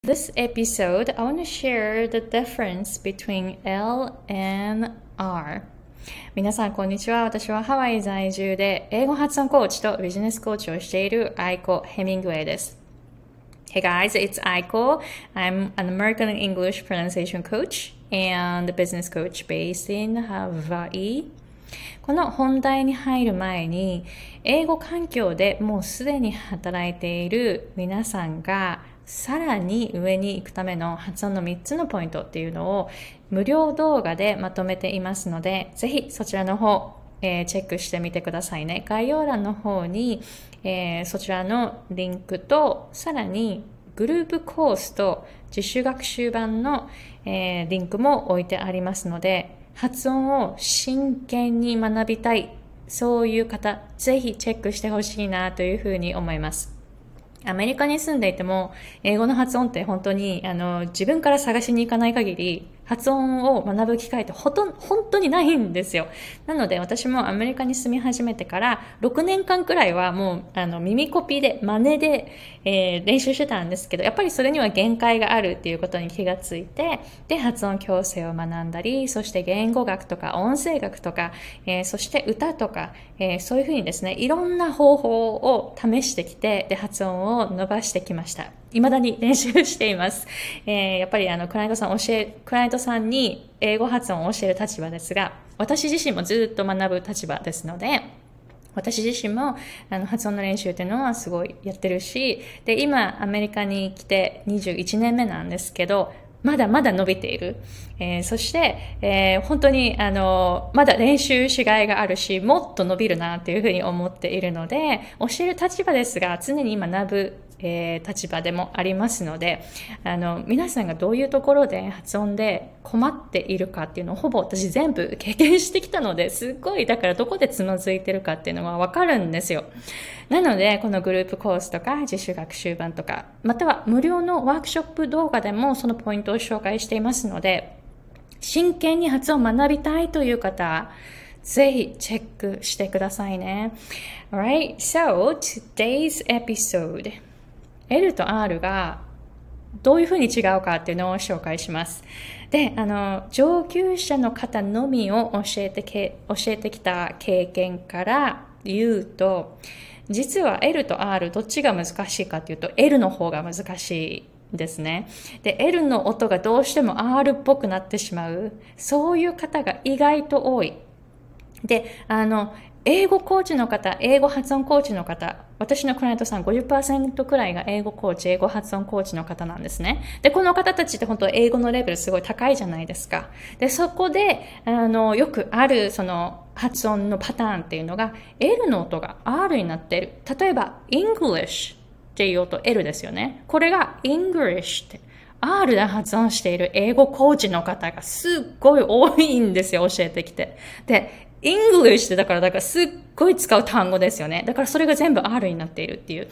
This episode, I want to share the difference between L and R. 皆さん、こんにちは。私はハワイ在住で英語発音コーチとビジネスコーチをしているアイコ・ヘミングウェイです。Hey guys, it's Aiko. I'm an American English pronunciation coach and business coach based in Hawaii. この本題に入る前に、英語環境でもうすでに働いている皆さんがさらに上に行くための発音の3つのポイントっていうのを無料動画でまとめていますので、ぜひそちらの方、チェックしてみてくださいね。概要欄の方に、そちらのリンクと、さらにグループコースと自主学習版の、リンクも置いてありますので、発音を真剣に学びたい、そういう方、ぜひチェックしてほしいなというふうに思います。アメリカに住んでいても、英語の発音って本当に自分から探しに行かない限り、発音を学ぶ機会って本当にないんですよ。なので私もアメリカに住み始めてから6年間くらいはもう耳コピで真似で、練習してたんですけど、やっぱりそれには限界があるっていうことに気がついて、で発音矯正を学んだり、そして言語学とか音声学とか、そして歌とか、そういうふうにですね、いろんな方法を試してきて、で発音を伸ばしてきました。未だに練習しています。やっぱりクライアントさんに英語発音を教える立場ですが、私自身もずっと学ぶ立場ですので、私自身も発音の練習っていうのはすごいやってるし、で今アメリカに来て21年目なんですけど、まだまだ伸びている。そして、本当にまだ練習しがいがあるし、もっと伸びるなというふうに思っているので、教える立場ですが、常に学ぶ立場でもありますので、皆さんがどういうところで発音で困っているかっていうのをほぼ私全部経験してきたので、すっごいだからどこでつまずいてるかっていうのはわかるんですよ。なのでこのグループコースとか自主学習版とか、または無料のワークショップ動画でもそのポイントを紹介していますので、真剣に発音を学びたいという方、ぜひチェックしてくださいね。Alright, so today's episode L と R がどういうふうに違うかっていうのを紹介します。で、上級者の方のみを教えてきた経験から言うと、実は L と R どっちが難しいかっていうと L の方が難しいですね。で、L の音がどうしても R っぽくなってしまう。そういう方が意外と多い。で、英語コーチの方、英語発音コーチの方、私のクライアントさん 50% くらいが英語コーチ、英語発音コーチの方なんですね。で、この方たちって本当英語のレベルすごい高いじゃないですか。で、そこで、よくあるその発音のパターンっていうのが L の音が R になっている。例えば、English っていう音 L ですよね。これが English って。R で発音している英語コーチの方がすっごい多いんですよ、教えてきて。で、English ってだからすっごい使う単語ですよね。だからそれが全部 R になっているっていう、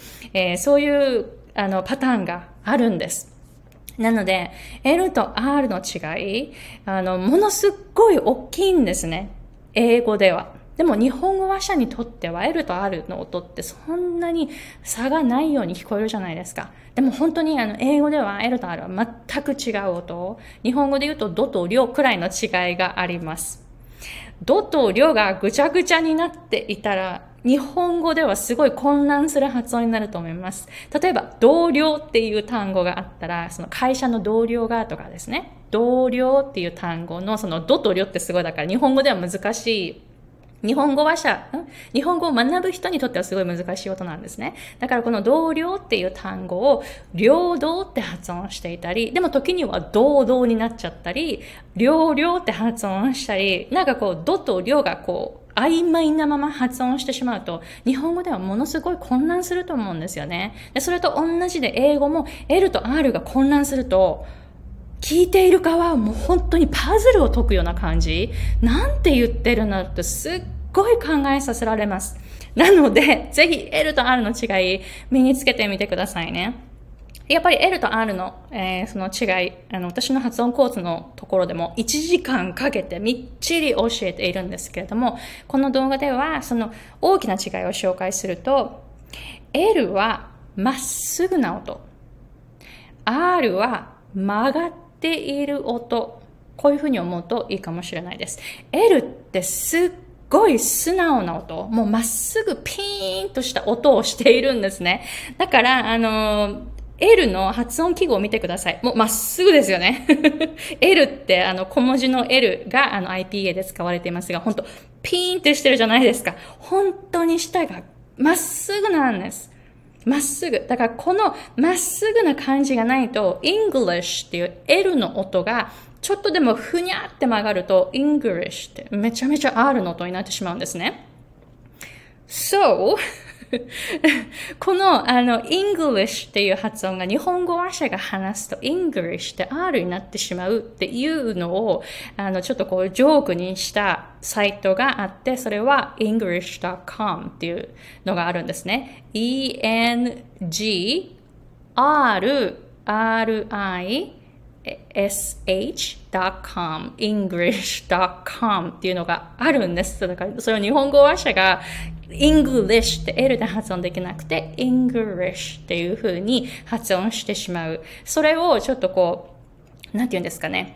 そういうパターンがあるんです。なので、L と R の違い、ものすっごい大きいんですね。英語では。でも日本語話者にとっては L と R の音ってそんなに差がないように聞こえるじゃないですか。でも本当に英語では L と R は全く違う音。日本語で言うとドとリョくらいの違いがあります。ドとリョがぐちゃぐちゃになっていたら、日本語ではすごい混乱する発音になると思います。例えば、同僚っていう単語があったら、その会社の同僚がとかですね。同僚っていう単語のそのドとリョってすごいだから日本語では難しい。日本語を学ぶ人にとってはすごい難しい音なんですね。だからこの同僚っていう単語を両道って発音していたり、でも時には同々になっちゃったり、両々って発音したり、なんかこう、ドと両がこう、曖昧なまま発音してしまうと、日本語ではものすごい混乱すると思うんですよね。でそれと同じで英語も L と R が混乱すると、聞いている側はもう本当にパズルを解くような感じ。なんて言ってるのってすっごい考えさせられます。なので、ぜひ L と R の違い身につけてみてくださいね。やっぱり L と R の、その違い、私の発音コースのところでも1時間かけてみっちり教えているんですけれども、この動画ではその大きな違いを紹介すると、L はまっすぐな音。 R は曲がっている音。こういうふうに思うといいかもしれないです。L ってすっごい素直な音。もうまっすぐピーンとした音をしているんですね。だから、L の発音記号を見てください。もうまっすぐですよね。L って小文字の L がIPA で使われていますが、本当ピーンってしてるじゃないですか。本当に舌がまっすぐなんです。まっすぐ。だからこのまっすぐな感じがないと、English っていう L の音がちょっとでもふにゃって曲がると、English ってめちゃめちゃ R の音になってしまうんですね。So, このEnglish っていう発音が日本語話者が話すと English って R になってしまうっていうのをちょっとこうジョークにしたサイトがあって、それは english.com っていうのがあるんですね。english.com english.com っていうのがあるんです。だからそれを日本語話者がEnglish って L で発音できなくて English っていう風に発音してしまう。それをちょっとこう、なんて言うんですかね。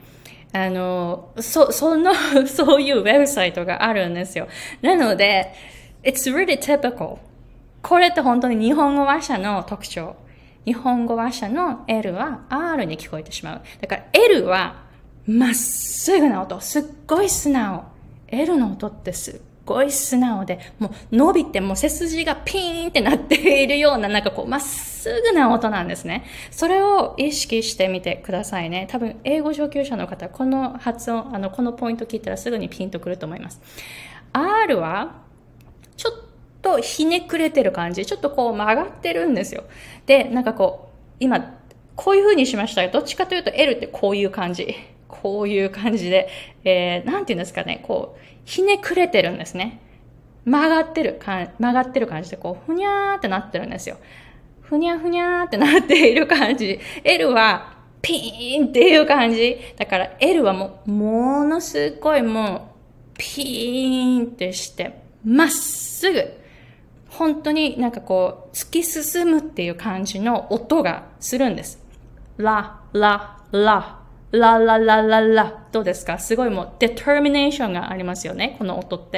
そういうウェブサイトがあるんですよ。なので、it's really typical. これって本当に日本語話者の特徴。日本語話者の L は R に聞こえてしまう。だから L はまっすぐな音。すっごい素直。L の音ってすっごい素直で、もう伸びてもう背筋がピーンってなっているような、なんかこうまっすぐな音なんですね。それを意識してみてくださいね。多分英語上級者の方、この発音、このポイント聞いたらすぐにピンとくると思います。R はちょっとひねくれてる感じ、ちょっとこう曲がってるんですよ。で、なんかこう今こういう風にしましたが、どっちかというと L ってこういう感じ。こういう感じで、なんていうんですかね、こう、ひねくれてるんですね。曲がってる感じで、こう、ふにゃーってなってるんですよ。ふにゃふにゃーってなっている感じ。L は、ピーンっていう感じ。だから L はものすごいもう、ピーンってして、まっすぐ。本当になんかこう、突き進むっていう感じの音がするんです。ラ、ラ、ラ。ラララララ。どうですか？すごいもう、デターミネーションがありますよね。この音って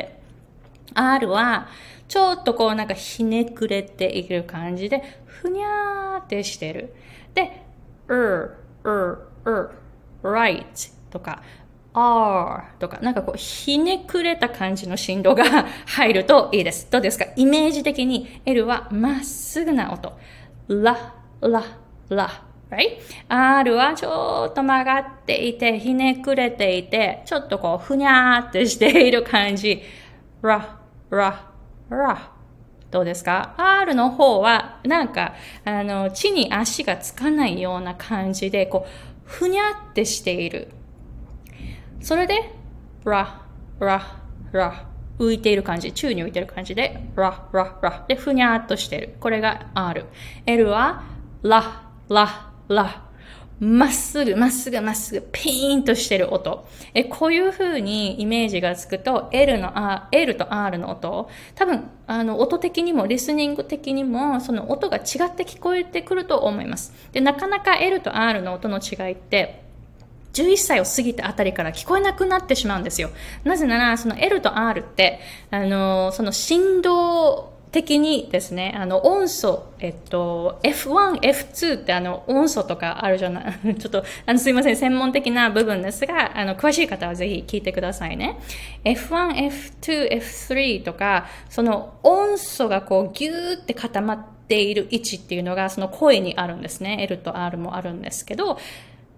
。R は、ちょっとこうなんかひねくれている感じで、ふにゃーってしてる。で、right とか、R とか、なんかこう、ひねくれた感じの振動が入るといいです。どうですか？イメージ的に L はまっすぐな音。ラ、ラ、ラ。Right? R はちょっと曲がっていて、ひねくれていて、ちょっとこう、ふにゃーってしている感じ。ラ、ラ、ラ。どうですか？ R の方は、なんか、地に足がつかないような感じで、こう、ふにゃってしている。それで、ラ、ラ、ラ。浮いている感じ。宙に浮いている感じで、ラ、ラ、ラ。で、ふにゃーっとしている。これが R。L は、ラ、ラ、ラ。まっすぐ、まっすぐ、まっすぐ、ピーンとしてる音。こういう風にイメージがつくと、L と R の音、多分、音的にも、リスニング的にも、その音が違って聞こえてくると思います。で、なかなか L と R の音の違いって、11歳を過ぎたあたりから聞こえなくなってしまうんですよ。なぜなら、その L と R って、その振動、的にですね、音素、F1、F2 って音素とかあるじゃない、ちょっと、すいません、専門的な部分ですが、詳しい方はぜひ聞いてくださいね。F1、F2、F3 とか、その音素がこうギューって固まっている位置っていうのが、その声にあるんですね。L と R もあるんですけど、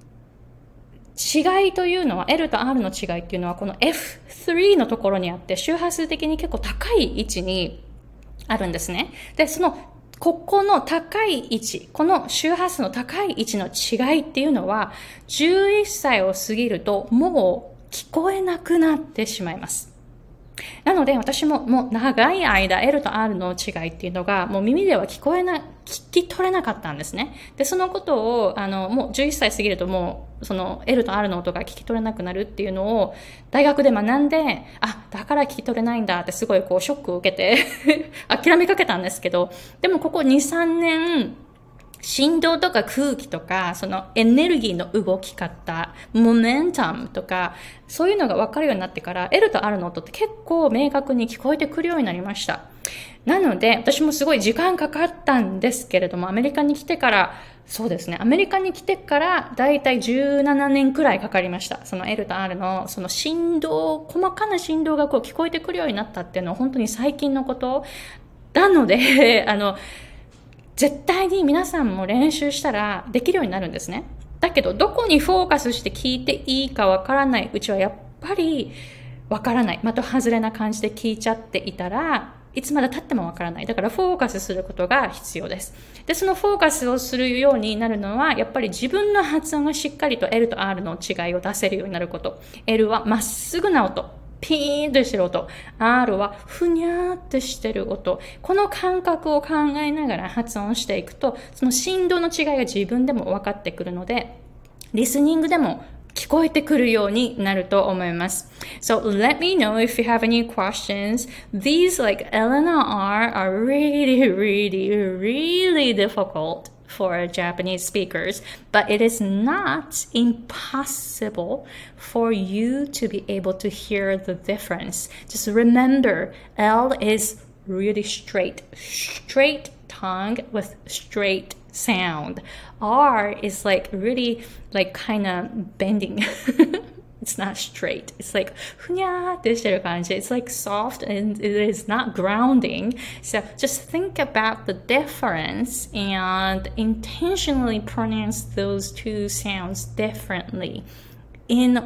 違いというのは、L と R の違いっていうのは、この F3 のところにあって、周波数的に結構高い位置に、あるんですね。で、ここの高い位置、この周波数の高い位置の違いっていうのは、11歳を過ぎるともう聞こえなくなってしまいます。なので私ももう長い間 L と R の違いっていうのがもう耳では聞き取れなかったんですね。で、そのことをもう11歳過ぎるともうその L と R の音が聞き取れなくなるっていうのを大学で学んで、だから聞き取れないんだってすごいショックを受けて諦めかけたんですけど、でもここ2、3年振動とか空気とか、そのエネルギーの動き方、モメンタムとか、そういうのが分かるようになってから、L と R の音って結構明確に聞こえてくるようになりました。なので、私もすごい時間かかったんですけれども、アメリカに来てから、そうですね、アメリカに来てから、だいたい17年くらいかかりました。その L と R の、その振動、細かな振動がこう聞こえてくるようになったっていうのは本当に最近のことなので、絶対に皆さんも練習したらできるようになるんですね。だけど、どこにフォーカスして聞いていいかわからないうちはやっぱりわからない。的外れな感じで聞いちゃっていたら、いつまで経ってもわからない。だからフォーカスすることが必要です。で、そのフォーカスをするようになるのは、やっぱり自分の発音がしっかりと L と R の違いを出せるようになること。L はまっすぐな音。ピーンとしてる音。R はふにゃーってしてる音。この感覚を考えながら発音していくと、その振動の違いが自分でも分かってくるので、リスニングでも聞こえてくるようになると思います。So let me know if you have any questions. These like L and R are really, really, really difficult for Japanese speakers, but it is not impossible for you to be able to hear the difference. Just remember, L is really straight tongue with straight sound. R is like really like kind of bending. It's not straight. It's like ふにゃーってしてる感じ. It's like soft and it is not grounding. So just think about the difference and intentionally pronounce those two sounds differently. And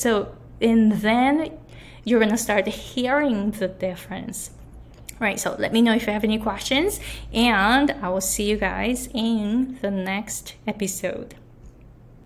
then you're gonna start hearing the difference. Right, so let me know if you have any questions, and I will see you guys in the next episode.